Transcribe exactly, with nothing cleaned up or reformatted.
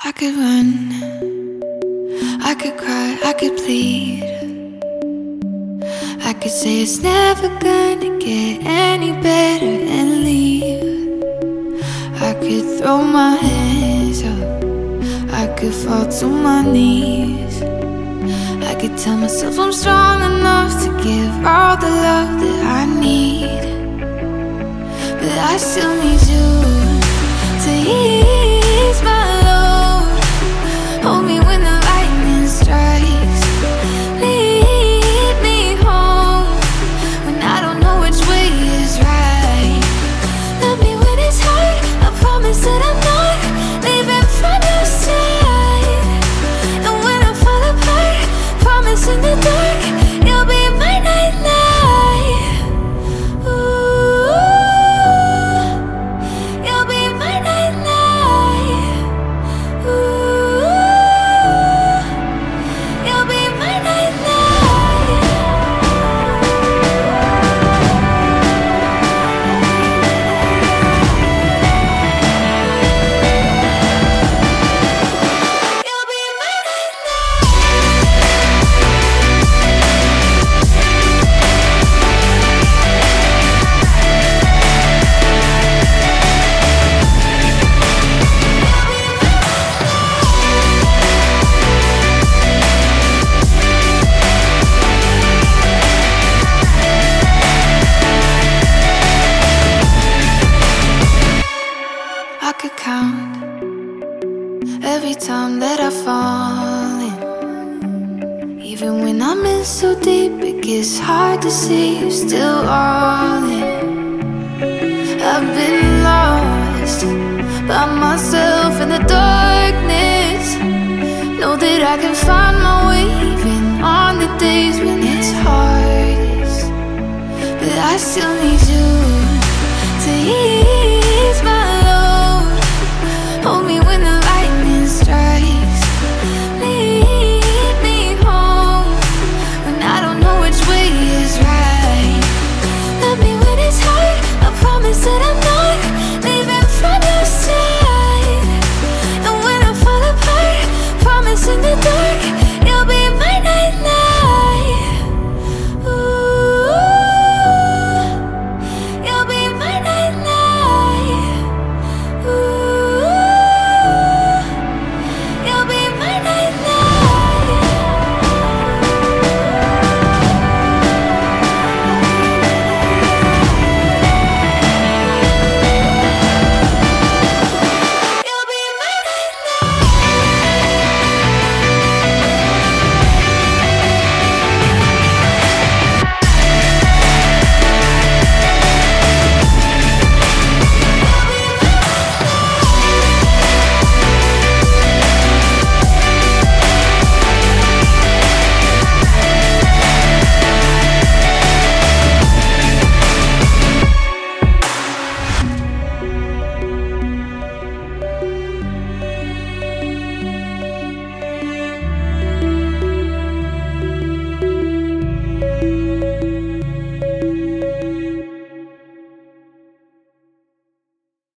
I could run, I could cry, I could plead. I could say it's never gonna get any better and leave. I could throw my hands up, I could fall to my knees. I could tell myself I'm strong enough to give all the love that I need. But I still need you to ease my load. Hold me when the lightning strikes. Lead me home when I don't know which way is right. Love me when it's hard, I promise that I'm not leaving from your side. And when I fall apart, promise in the dark you'll be my nightlight. Ooh, you'll be my nightlight. Ooh, you'll be my nightlight. You'll be my I could count every time that I fall in. Even when I'm in so deep, it gets hard to see you're still all in. I've been lost by myself in the darkness. Know that I can find my way even on the days when it's hardest. But I still need